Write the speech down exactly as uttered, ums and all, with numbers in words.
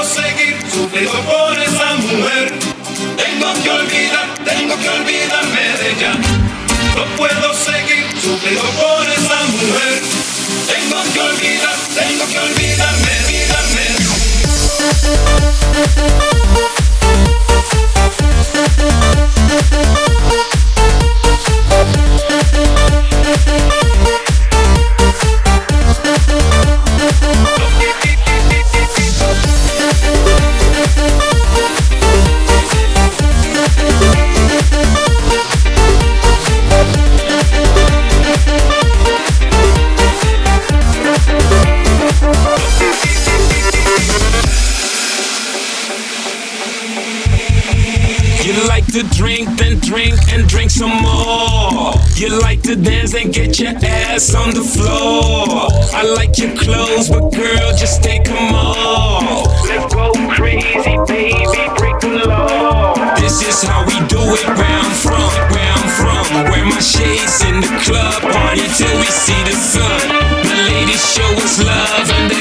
seguir sufriendo por esa mujer. Tengo que olvidar, tengo que olvidarme de ella. No puedo seguir sufriendo por esa mujer. Tengo que olvidar, tengo que olvidarme, olvidarme. To drink, then drink and drink some more. You like to dance and get your ass on the floor. I like your clothes, but girl, just take them off. Let's go crazy, baby, break the law. This is how we do it, where I'm from, where I'm from. Wear my shades in the club, party till we see the sun. The ladies show us love and